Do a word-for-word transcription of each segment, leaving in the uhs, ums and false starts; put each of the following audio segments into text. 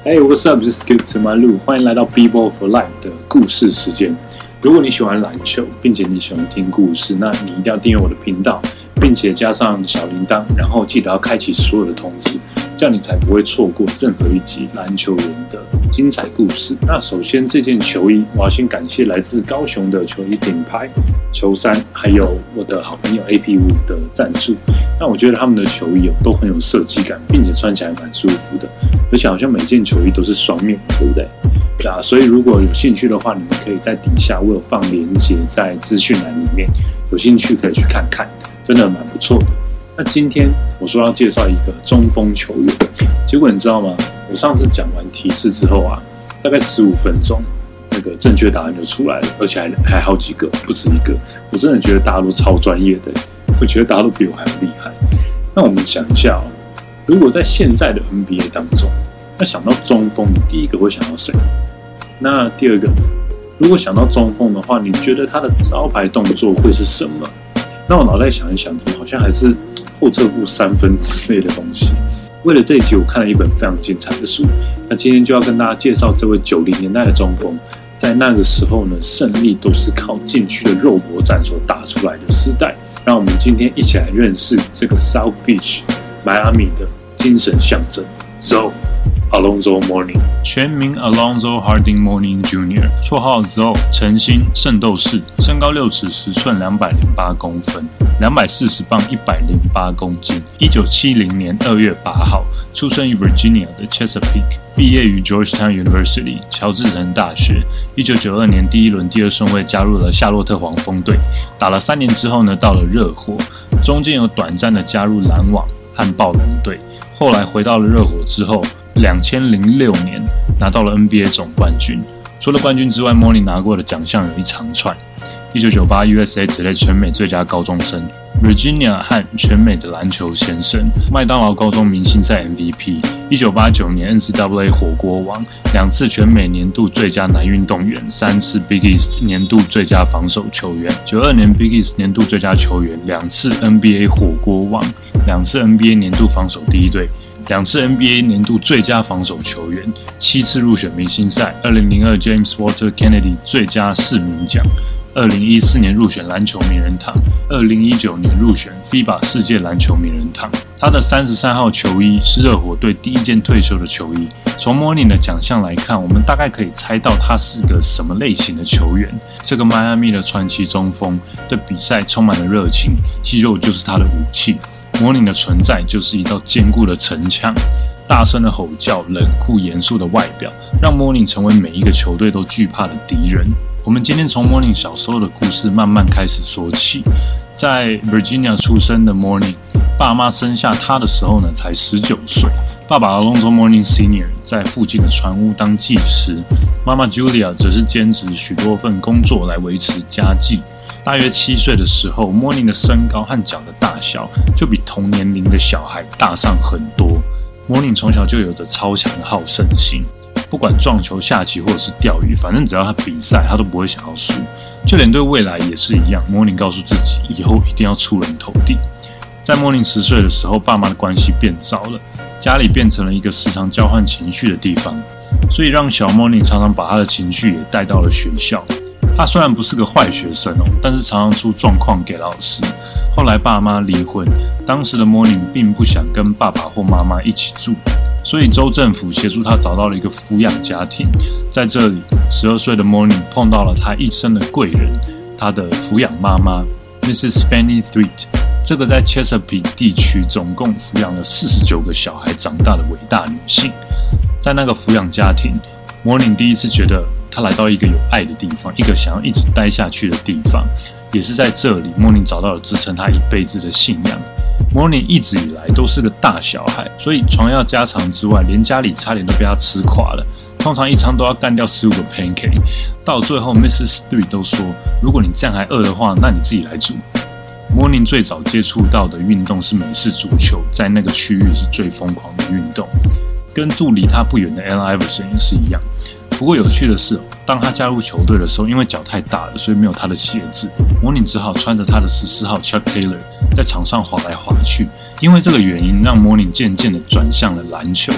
Hey, what's up? This is Skip to my Lou. 欢迎来到 B-Ball for Life 的故事时间。如果你喜欢篮球，并且你喜欢听故事，那你一定要订阅我的频道，并且加上小铃铛，然后记得要开启所有的通知，这样你才不会错过任何一集篮球人的精彩故事。那首先这件球衣，我要先感谢来自高雄的球衣品牌球衫，还有我的好朋友 A P 五 的赞助。那我觉得他们的球衣都很有设计感，并且穿起来蛮舒服的，而且好像每件球衣都是双面，对不对？对啊，所以如果有兴趣的话，你们可以在底下我有放连结在资讯栏里面，有兴趣可以去看看，真的蛮不错的。那今天我说要介绍一个中锋球员，结果你知道吗？我上次讲完提示之后啊，大概十五分钟，那个正确答案就出来了，而且还还好几个，不止一个。我真的觉得大家都超专业的，我觉得大家都比我还要厉害。那我们想一下哦，如果在现在的 N B A 当中，那想到中锋，你第一个会想到谁？那第二个，如果想到中锋的话，你觉得他的招牌动作会是什么？那我脑袋想一想，怎么好像还是后撤步三分之类的东西。为了这一集，我看了一本非常精彩的书。那今天就要跟大家介绍这位九零年代的中锋，在那个时候呢，胜利都是靠禁区的肉搏战所打出来的时代。让我们今天一起来认识这个 South Beach 迈阿密的精神象征 Zoe Alonzo Mourning， 全名 Alonzo Harding Mourning Junior 绰号 Zoe， 晨星圣斗士，身高六尺十寸，两百零八公分，两百四十磅，一百零八公斤。一九七零年二月八号出生于 Virginia 的 Chesapeake， 毕业于 Georgetown University 乔治城大学。一九九二年第一轮第二顺位加入了夏洛特黄蜂队，打了三年之后呢，到了热火，中间有短暂的加入篮网和暴龙队，后来回到了热火之后，二千零六年拿到了 N B A 总冠军。除了冠军之外 ，Mourning 拿过的奖项有一长串：一九九八 U S A Today 全美最佳高中生 ，Virginia 和全美的篮球先生，麦当劳高中明星赛 M V P， 一九八九年 N C double A 火锅王，两次全美年度最佳男运动员，三次 Big East 年度最佳防守球员，九二年 Big East 年度最佳球员，两次 N B A 火锅王，两次 N B A 年度防守第一队。两次 N B A 年度最佳防守球员，七次入选明星赛，二零零二 James Walter Kennedy 最佳市民奖，二零一四年入选篮球名人堂，二零一九年入选 F I B A 世界篮球名人堂。他的三十三号球衣是热火队第一件退休的球衣。从 Mourning 的奖项来看，我们大概可以猜到他是个什么类型的球员。这个迈阿密的传奇中锋对比赛充满了热情，肌肉就是他的武器。Mourning 的存在就是一道坚固的城墙，大声的吼叫，冷酷严肃的外表，让 Mourning 成为每一个球队都惧怕的敌人。我们今天从 Mourning 小时候的故事慢慢开始说起。在 Virginia 出生的 Mourning， 爸妈生下他的时候呢，才十九岁。爸爸 Alonzo Mourning Senior 在附近的船屋当技师，妈妈 Julia 则是兼职许多份工作来维持家计。大约七岁的时候 ，Mourning 的身高和脚的大小就比同年龄的小孩大上很多。Mourning 从小就有着超强的好胜心，不管撞球、下棋或者是钓鱼，反正只要他比赛，他都不会想要输。就连对未来也是一样 ，Mourning 告诉自己，以后一定要出人头地。在 Mourning 十岁的时候，爸妈的关系变糟了，家里变成了一个时常交换情绪的地方，所以让小 Mourning 常常把他的情绪也带到了学校。他虽然不是个坏学生哦，但是常常出状况给老师。后来爸妈离婚，当时的 Mourning 并不想跟爸爸或妈妈一起住，所以州政府协助他找到了一个抚养家庭。在这里，十二岁的 Mourning 碰到了他一生的贵人，他的抚养妈妈 Missus Fanny Threet， 这个在 Chesapeake 地区总共抚养了四十九个小孩长大的伟大女性。在那个抚养家庭， Mourning 第一次觉得他来到一个有爱的地方，一个想要一直待下去的地方。也是在这里 ，Mourning 找到了支撑他一辈子的信仰。Mourning 一直以来都是个大小孩，所以床要家常之外，连家里差点都被他吃垮了。通常一餐都要干掉十五个 pancake， 到最后 Missus Three 都说，如果你这样还饿的话，那你自己来煮。Mourning 最早接触到的运动是美式足球，在那个区域是最疯狂的运动，跟住离他不远的 Allen Iverson 也是一样。不过有趣的是，当他加入球队的时候，因为脚太大了，所以没有他的鞋子。Mourning只好穿着他的十四号 Chuck Taylor 在场上滑来滑去。因为这个原因，让 Mourning 渐渐的转向了篮球。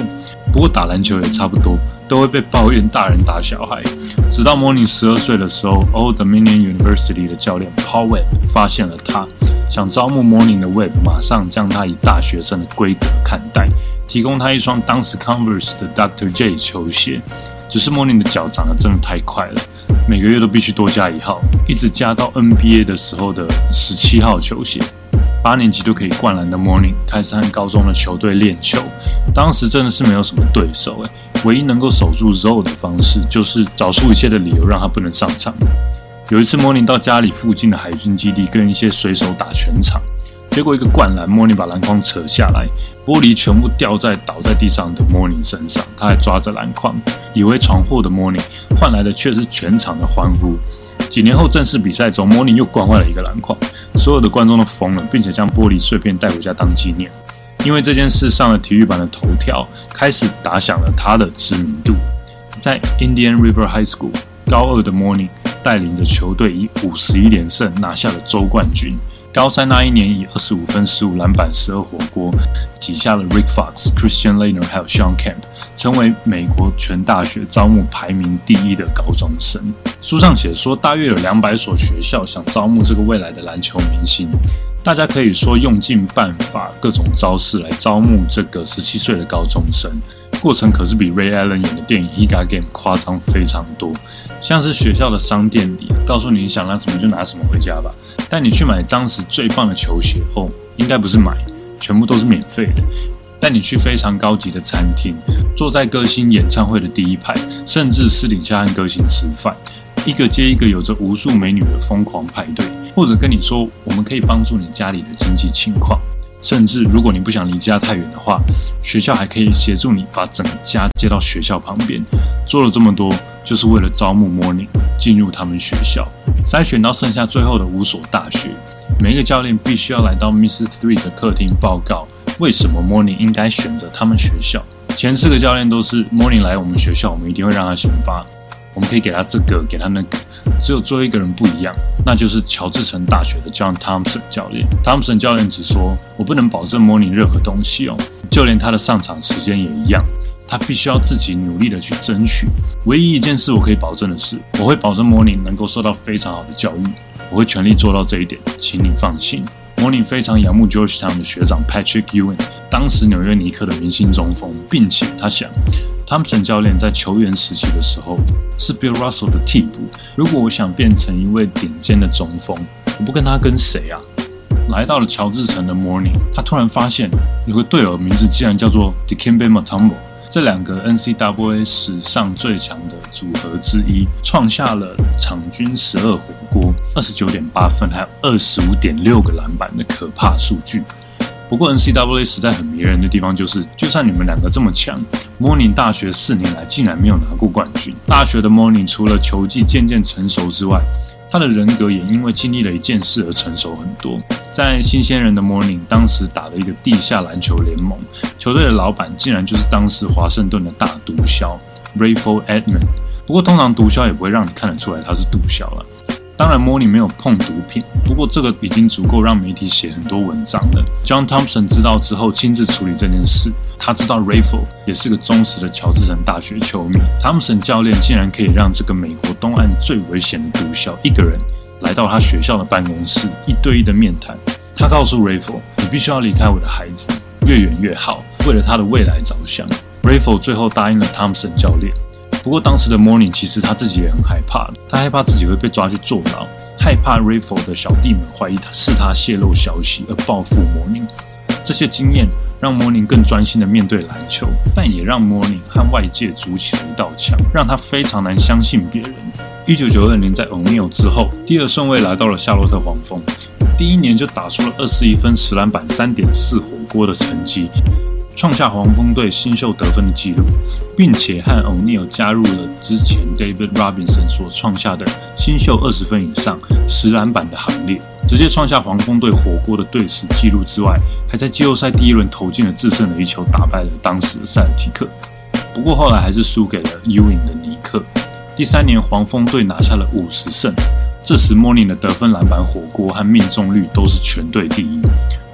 不过打篮球也差不多，都会被抱怨大人打小孩。直到 Mourning 十二岁的时候 ，Old Dominion University 的教练 Paul Webb 发现了他，想招募 Mourning 的 Webb 马上将他以大学生的规格看待，提供他一双当时 Converse 的 Doctor J 球鞋。只是 Mourning 的脚长得真的太快了，每个月都必须多加一号，一直加到 N B A 的时候的十七号球鞋。八年级就可以灌篮的 Mourning 开始和高中的球队练球，当时真的是没有什么对手，唯一能够守住 Zoe 的方式就是找出一切的理由让他不能上场。有一次 Mourning 到家里附近的海军基地跟一些水手打全场，结果一个灌篮 Mourning 把篮筐扯下来，玻璃全部掉在倒在地上的 Mourning 身上，他还抓着篮筐，以为闯祸的 Mourning 换来的却是全场的欢呼。几年后正式比赛中 Mourning 又灌坏了一个篮筐，所有的观众都疯了，并且将玻璃碎片带回家当纪念。因为这件事上了体育版的头条，开始打响了他的知名度。在 Indian River High School 高二的 Mourning 带领着球队以五十一连胜拿下了州冠军。高三那一年以二十五分、十五篮板、十二火锅挤下了 Rick Fox、Christian Laettner 还有 Sean Kemp， 成为美国全大学招募排名第一的高中生。书上写说，大约有两百所学校想招募这个未来的篮球明星，大家可以说用尽办法、各种招式来招募这个十七岁的高中生。过程可是比 Ray Allen 演的电影《Higa Game》夸张非常多，像是学校的商店里告诉你想拿什么就拿什么回家吧，带你去买当时最棒的球鞋哦，应该不是买，全部都是免费的。带你去非常高级的餐厅，坐在歌星演唱会的第一排，甚至私底下和歌星吃饭，一个接一个有着无数美女的疯狂派对，或者跟你说我们可以帮助你家里的经济情况，甚至如果你不想离家太远的话，学校还可以协助你把整个家接到学校旁边。做了这么多，就是为了招募 Mourning 进入他们学校，筛选到剩下最后的五所大学。每一个教练必须要来到 Missus Three 的客厅报告，为什么 Mourning 应该选择他们学校。前四个教练都是 Mourning 来我们学校，我们一定会让他先发，我们可以给他这个，给他那个。只有最后一个人不一样，那就是乔治城大学的 John Thompson 教练。Thompson 教练只说，我不能保证 Mourning 任何东西哦，就连他的上场时间也一样，他必须要自己努力的去争取。唯一一件事我可以保证的是，我会保证 Mourning 能够受到非常好的教育，我会全力做到这一点，请你放心。Mourning 非常仰慕 Georgetown 的学长 Patrick Ewing， 当时纽约尼克的明星中锋，并且他想Thompson 教练在球员时期的时候是 Bill Russell 的替补，如果我想变成一位顶尖的中锋，我不跟他跟谁啊？来到了乔治城的 Mourning， 他突然发现有个队友的名字竟然叫做 Dikembe Mutombo， 这两个 N C double A 史上最强的组合之一，创下了场均十二火锅、二十九点八分还有 二十五点六个篮板的可怕数据。不过 N C double A 实在很迷人的地方就是，就算你们两个这么强， Mourning 大学四年来竟然没有拿过冠军。大学的 Mourning 除了球技渐渐成熟之外，他的人格也因为经历了一件事而成熟很多。在新鲜人的 Mourning 当时打了一个地下篮球联盟，球队的老板竟然就是当时华盛顿的大毒枭 Rayford Edmond。不过通常毒枭也不会让你看得出来他是毒枭了。当然 Mourning 没有碰毒品，不过这个已经足够让媒体写很多文章了。John Thompson 知道之后亲自处理这件事，他知道 Rayford 也是个忠实的乔治城大学球迷。Thompson 教练竟然可以让这个美国东岸最危险的毒枭一个人来到他学校的办公室，一对一的面谈。他告诉 Rayford， 你必须要离开我的孩子，越远越好，为了他的未来着想。Rayford 最后答应了 Thompson 教练。不过当时的 Mourning 其实他自己也很害怕，他害怕自己会被抓去坐牢，害怕 Rayford 的小弟们怀疑他是他泄露消息而报复 Mourning。这些经验让 Mourning 更专心地面对篮球，但也让 Mourning 和外界筑起了一道墙，让他非常难相信别人。一九九二年在 O'Neal 之后，第二顺位来到了夏洛特黄蜂，第一年就打出了二十一分、十篮板、三点四火锅的成绩，创下黄蜂队新秀得分的纪录，并且和 O'Neal 加入了之前 David Robinson 所创下的新秀二十分以上、十篮板的行列，直接创下黄蜂队火锅的队史纪录之外，还在季后赛第一轮投进了制胜的一球，打败了当时的塞尔提克。不过后来还是输给了 Ewing 的尼克。第三年黄蜂队拿下了五十胜，这时 Mourning 的得分、篮板、火锅和命中率都是全队第一。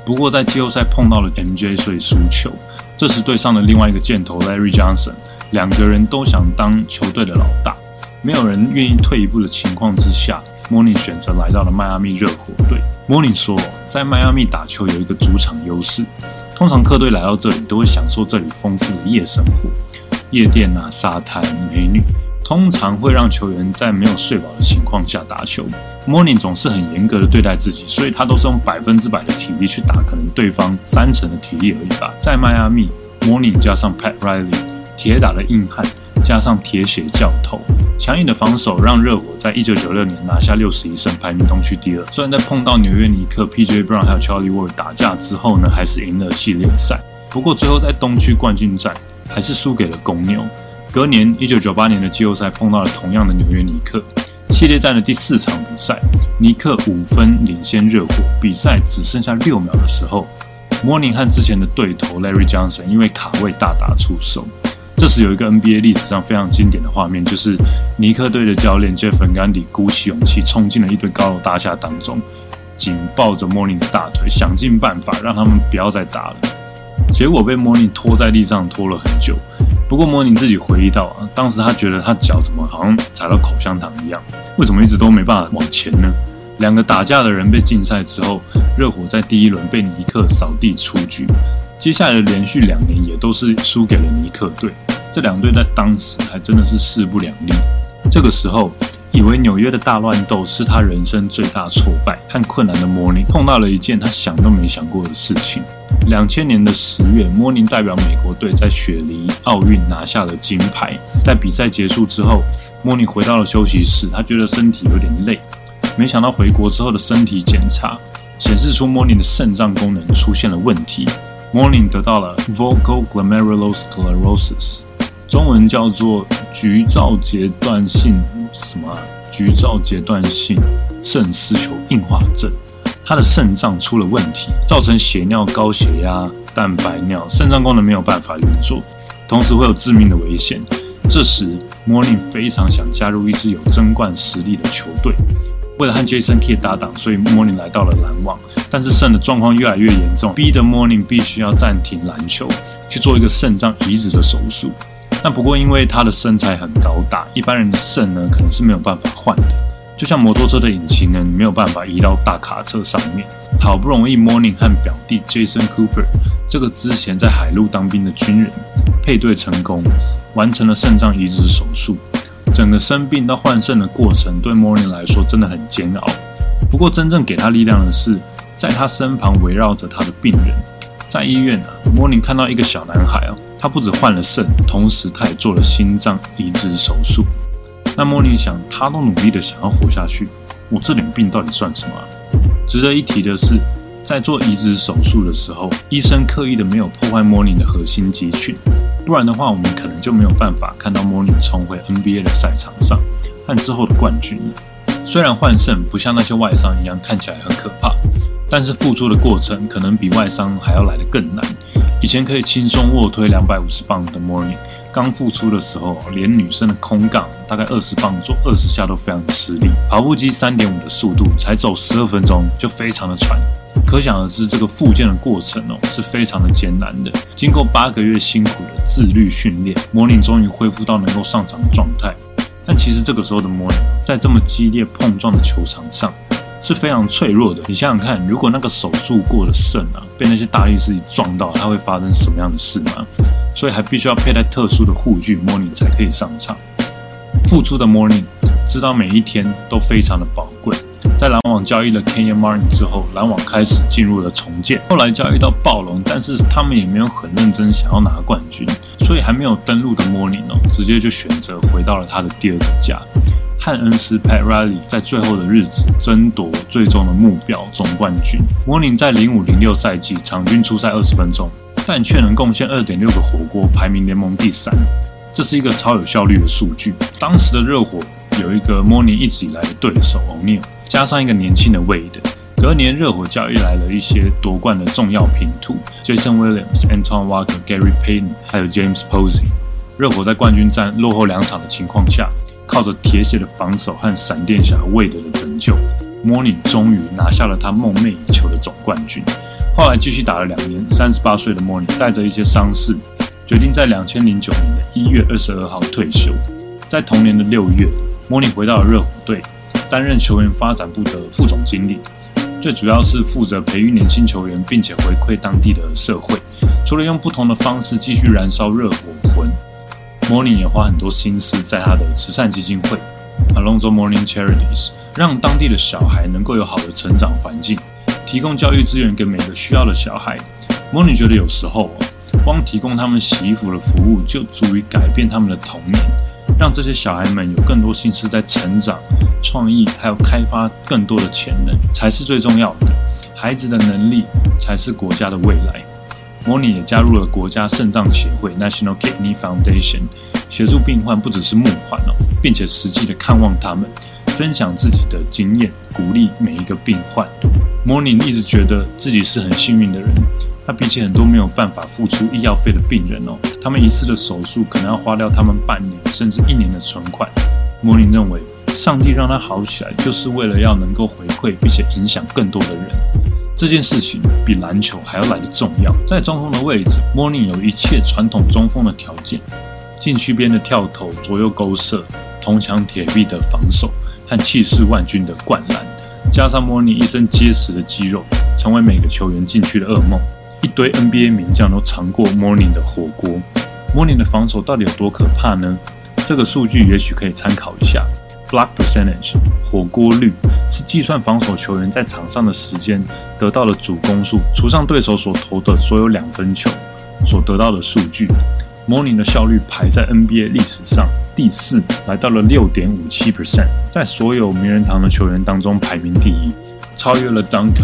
不过在季后赛碰到了 M J， 所以输球。这时对上了另外一个箭头 Larry Johnson， 两个人都想当球队的老大，没有人愿意退一步的情况之下，Mourning 选择来到了迈阿密热火队。Mourning 说，在迈阿密打球有一个主场优势，通常客队来到这里都会享受这里丰富的夜生活，夜店啊、沙滩、美女，通常会让球员在没有睡饱的情况下打球。Mourning 总是很严格的对待自己，所以他都是用百分之百的体力去打可能对方三成的体力而已吧。在迈阿密 ，Mourning 加上 Pat Riley， 铁打的硬汉加上铁血教头，强硬的防守让热火在一九九六年拿下六十一胜，排名东区第二。虽然在碰到纽约尼克、P J Brown 还有 Charlie Ward 打架之后呢，还是赢了系列赛，不过最后在东区冠军战还是输给了公牛。隔年一九九八年的季后赛碰到了同样的纽约尼克，系列战的第四场比赛，尼克五分领先热火，比赛只剩下六秒的时候 ，Mourning 和之前的对头 Larry Johnson 因为卡位大打出手。这时有一个 N B A 历史上非常经典的画面，就是尼克队的教练 Jeff Van Gundy 鼓起勇气冲进了一堆高楼大厦当中，紧抱着 Mourning 的大腿，想尽办法让他们不要再打了。结果被 Mourning 拖在地上拖了很久。不过 Mourning 自己回忆到啊，当时他觉得他脚怎么好像踩到口香糖一样，为什么一直都没办法往前呢？两个打架的人被禁赛之后，热火在第一轮被尼克扫地出局，接下来的连续两年也都是输给了尼克队。这两队在当时还真的是势不两立。这个时候，以为纽约的大乱斗是他人生最大挫败和困难的 Mourning 碰到了一件他想都没想过的事情。两千年的十月 ，Mourning 代表美国队在雪梨奥运拿下了金牌。在比赛结束之后 ，Mourning 回到了休息室，他觉得身体有点累。没想到回国之后的身体检查显示出 Mourning 的肾脏功能出现了问题。Mourning 得到了 Vocal Glomerulosclerosis， 中文叫做局灶阶段性什么、啊、局灶阶段性肾丝球硬化症。他的肾脏出了问题，造成血尿、高血压、蛋白尿，肾脏功能没有办法运作，同时会有致命的危险。这时 Mourning 非常想加入一支有争冠实力的球队。为了和 Jason Kidd 搭档，所以 Mourning 来到了篮网，但是肾的状况越来越严重，逼得 Mourning 必须要暂停篮球，去做一个肾脏移植的手术。但不过因为他的身材很高大，一般人的肾呢可能是没有办法换的，就像摩托车的引擎呢，你没有办法移到大卡车上面。好不容易 Mourning 和表弟 Jason Cooper 这个之前在海陆当兵的军人配对成功，完成了肾脏移植手术。整个生病到换肾的过程对 Mourning 来说真的很煎熬。不过真正给他力量的是，在他身旁围绕着他的病人。在医院啊 ，Mourning 看到一个小男孩哦，他不只换了肾，同时他也做了心脏移植手术。那 Mourning 想，他都努力的想要活下去，我这点病到底算什么啊？值得一提的是，在做移植手术的时候，医生刻意的没有破坏 Mourning 的核心肌群，不然的话，我们可能就没有办法看到 Mourning 重回 N B A 的赛场上和之后的冠军了。虽然换肾不像那些外伤一样看起来很可怕，但是付出的过程可能比外伤还要来得更难。以前可以轻松卧推两百五十磅的 Mourning， 刚复出的时候，连女生的空杠大概二十磅做二十下都非常吃力，跑步机 三点五 的速度才走十二分钟就非常的喘。可想而知，这个复健的过程哦是非常的艰难的。经过八个月辛苦的自律训练 ，Mourning 终于恢复到能够上场的状态。但其实这个时候的 Mourning 在这么激烈碰撞的球场上是非常脆弱的。你想想看，如果那个手术过的肾啊被那些大力士一撞到，它会发生什么样的事吗？所以还必须要佩戴特殊的护具 ，Mourning 才可以上场。复出的 Mourning 知道每一天都非常的宝贵。在篮网交易了 Kenyon Martin 之后，篮网开始进入了重建。后来交易到暴龙，但是他们也没有很认真想要拿冠军，所以还没有登陆的 Mourning 哦，直接就选择回到了他的第二个家。汉恩斯 Pat Riley 在最后的日子争夺最终的目标总冠军。Mourning 在零五零六赛季场均出赛二十分钟，但却能贡献 二点六个火锅，排名联盟第三。这是一个超有效率的数据。当时的热火有一个 Mourning 一直以来的对手 O'Neal， 加上一个年轻的 Wade。隔年热火交易来了一些夺冠的重要拼图 ，Jason Williams、Antoine Walker、Gary Payton， 还有 James Posey。热火在冠军战落后两场的情况下，靠着铁血的防守和闪电侠 Wade 的拯救 ，Mourning 终于拿下了他梦寐以求的总冠军。 后来继续打了两年，三十八岁的 Mourning 带着一些伤势，决定在两千零九年的一月二十二号退休。在同年的六月 ，Mourning 回到了热火队，担任球员发展部的副总经理，最主要是负责培育年轻球员，并且回馈当地的社会。除了用不同的方式继续燃烧热火魂， Mourning 也花很多心思在他的慈善基金会 Alonzo Mourning Charities， 让当地的小孩能够有好的成长环境，提供教育资源给每个需要的小孩。 Mourning 觉得有时候光提供他们洗衣服的服务就足以改变他们的童年，让这些小孩们有更多心思在成长、创意，还有开发更多的潜能，才是最重要的。孩子的能力才是国家的未来。Mourning 也加入了国家肾脏协会 National Kidney Foundation， 协助病患不只是募款哦，并且实际的看望他们，分享自己的经验，鼓励每一个病患。Mourning 一直觉得自己是很幸运的人，他比起很多没有办法付出医药费的病人哦，他们一次的手术可能要花掉他们半年甚至一年的存款。Mourning 认为，上帝让他好起来，就是为了要能够回馈并且影响更多的人。这件事情比篮球还要来得重要。在中锋的位置 ，Mourning 有一切传统中锋的条件：禁区边的跳投、左右勾射、铜墙铁壁的防守和气势万钧的灌篮，加上 Mourning 一身结实的肌肉，成为每个球员禁区的噩梦。一堆 N B A 名将都尝过 Mourning 的火锅。Mourning 的防守到底有多可怕呢？这个数据也许可以参考一下。Block percentage 火锅率是计算防守球员在场上的时间得到的总攻数，除上对手所投的所有两分球所得到的数据。Mourning 的效率排在 N B A 历史上第四，来到了 百分之六点五七， 在所有名人堂的球员当中排名第一，超越了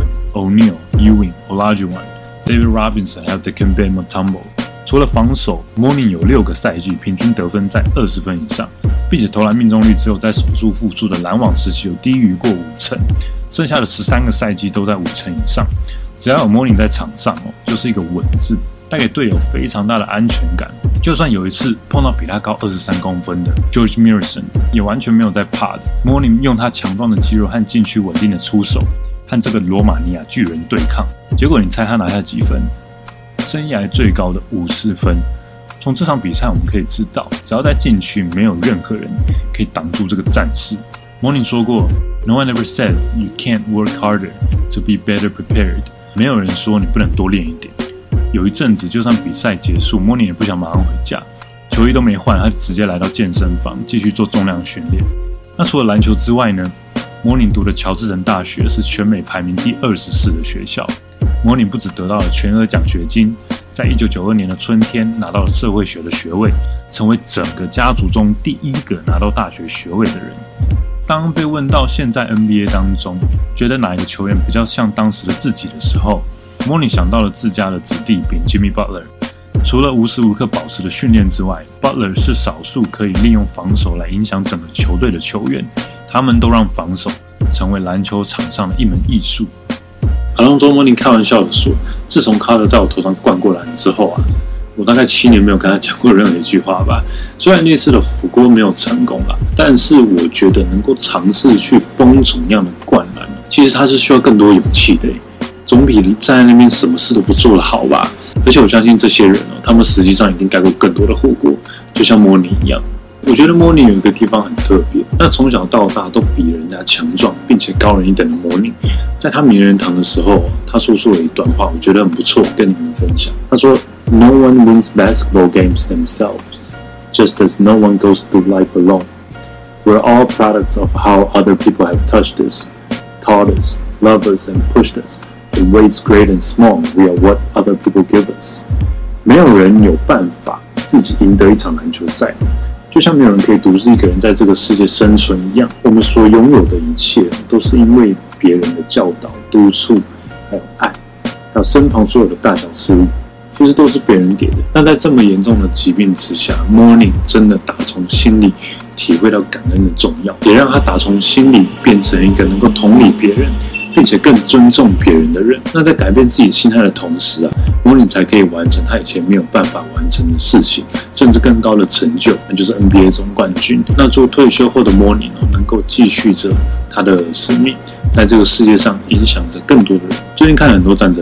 Duncan、O'Neal、Ewing、Olajuwon、David Robinson 还有 Dikembe Mutombo。除了防守 ，Mourning 有六个赛季平均得分在二十分以上，并且投篮命中率只有在守住复出的篮网时期有低于过五成，剩下的十三个赛季都在五成以上。只要有 Mourning 在场上哦，就是一个稳字，带给队友非常大的安全感。就算有一次碰到比他高二十三公分的 George Murison， 也完全没有在怕的。Mourning 用他强壮的肌肉和禁区稳定的出手，和这个罗马尼亚巨人对抗。结果你猜他拿下几分？生涯最高的五十分。从这场比赛我们可以知道，只要在禁区，没有任何人可以挡住这个战士。Mourning 说过 ，No one ever says you can't work harder to be better prepared。没有人说你不能多练一点。有一阵子，就算比赛结束 ，Mourning 也不想马上回家，球衣都没换，他就直接来到健身房继续做重量训练。那除了篮球之外呢 ？Mourning 读的乔治城大学是全美排名第二十四的学校。Mourning 不只得到了全额奖学金，在一九九二年的春天拿到了社会学的学位，成为整个家族中第一个拿到大学学位的人。当被问到现在 N B A 当中觉得哪一个球员比较像当时的自己的时候， Mourning 想到了自家的子弟兵 Jimmy Butler。除了无时无刻保持的训练之外， Butler 是少数可以利用防守来影响整个球队的球员，他们都让防守成为篮球场上的一门艺术。Alonzo Mourning 开玩笑的说，自从卡特在我头上灌过篮之后啊，我大概七年没有跟他讲过任何一句话吧。虽然那次的火锅没有成功啦，但是我觉得能够尝试去疯种样的灌篮，其实他是需要更多勇气的，总比站在那边什么事都不做的好吧。而且我相信这些人哦，他们实际上已经盖过更多的火锅，就像 Mourning 一样。我觉得 Mourning 有一个地方很特别，那从小到大都比人家强壮并且高人一等的 Mourning， 在他名人堂的时候，他说出了一段话，我觉得很不错，跟你们分享。他说 ：“No one wins basketball games themselves, just as no one goes through life alone. We're all products of how other people have touched us, taught us, loved us, and pushed us. In ways great and small, we are what other people give us.” 没有人有办法自己赢得一场篮球赛。就像没有人可以独自一个人在这个世界生存一样，我们所拥有的一切都是因为别人的教导、督促，还有爱，还有身旁所有的大小事物，其实都是别人给的。但在这么严重的疾病之下 ，Mourning 真的打从心里体会到感恩的重要，也让他打从心里变成一个能够同理别人，并且更尊重别人的人。那在改变自己心态的同时啊 ，Mourning 才可以完成他以前没有办法完成的事情，甚至更高的成就，那就是 N B A 总冠军。那做退休后的 Mourning 能够继续着他的使命，在这个世界上影响着更多的人。最近看了很多战争片，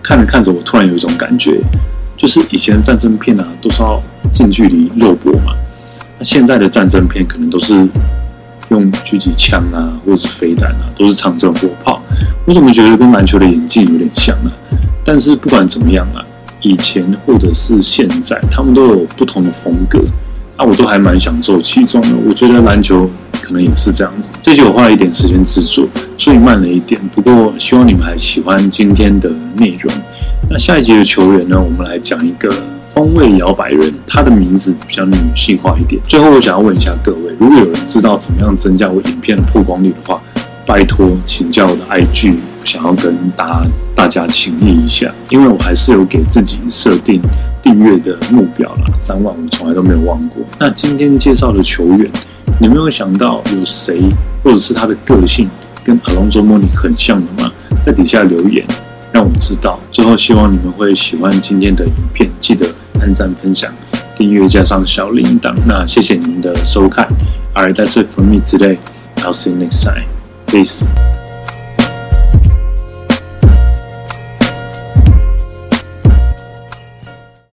看着看着，我突然有一种感觉，就是以前的战争片啊，都是要近距离肉搏嘛，那现在的战争片可能都是用狙击枪啊，或者是飞弹啊，都是长征火炮。我怎么觉得跟篮球的演技有点像呢？但是不管怎么样啊，以前或者是现在，他们都有不同的风格，啊，我都还蛮享受其中的。我觉得篮球可能也是这样子。这集我花了一点时间制作，所以慢了一点。不过希望你们还喜欢今天的内容。那下一集的球员呢，我们来讲一个风味摇摆人，他的名字比较女性化一点。最后我想要问一下各位，如果有人知道怎么样增加我影片的曝光率的话，拜托请教我的 I G， 想要跟大家大家请益一下，因为我还是有给自己设定订阅的目标啦，三万我从来都没有忘过。那今天介绍的球员，你们有想到有谁或者是他的个性跟 Alonzo Mourning 很像的吗？在底下留言让我知道。最后希望你们会喜欢今天的影片，记得按赞、分享、订阅加上小铃铛。那谢谢你们的收看。Alright, that's it for me today. I'll see you next time. Peace.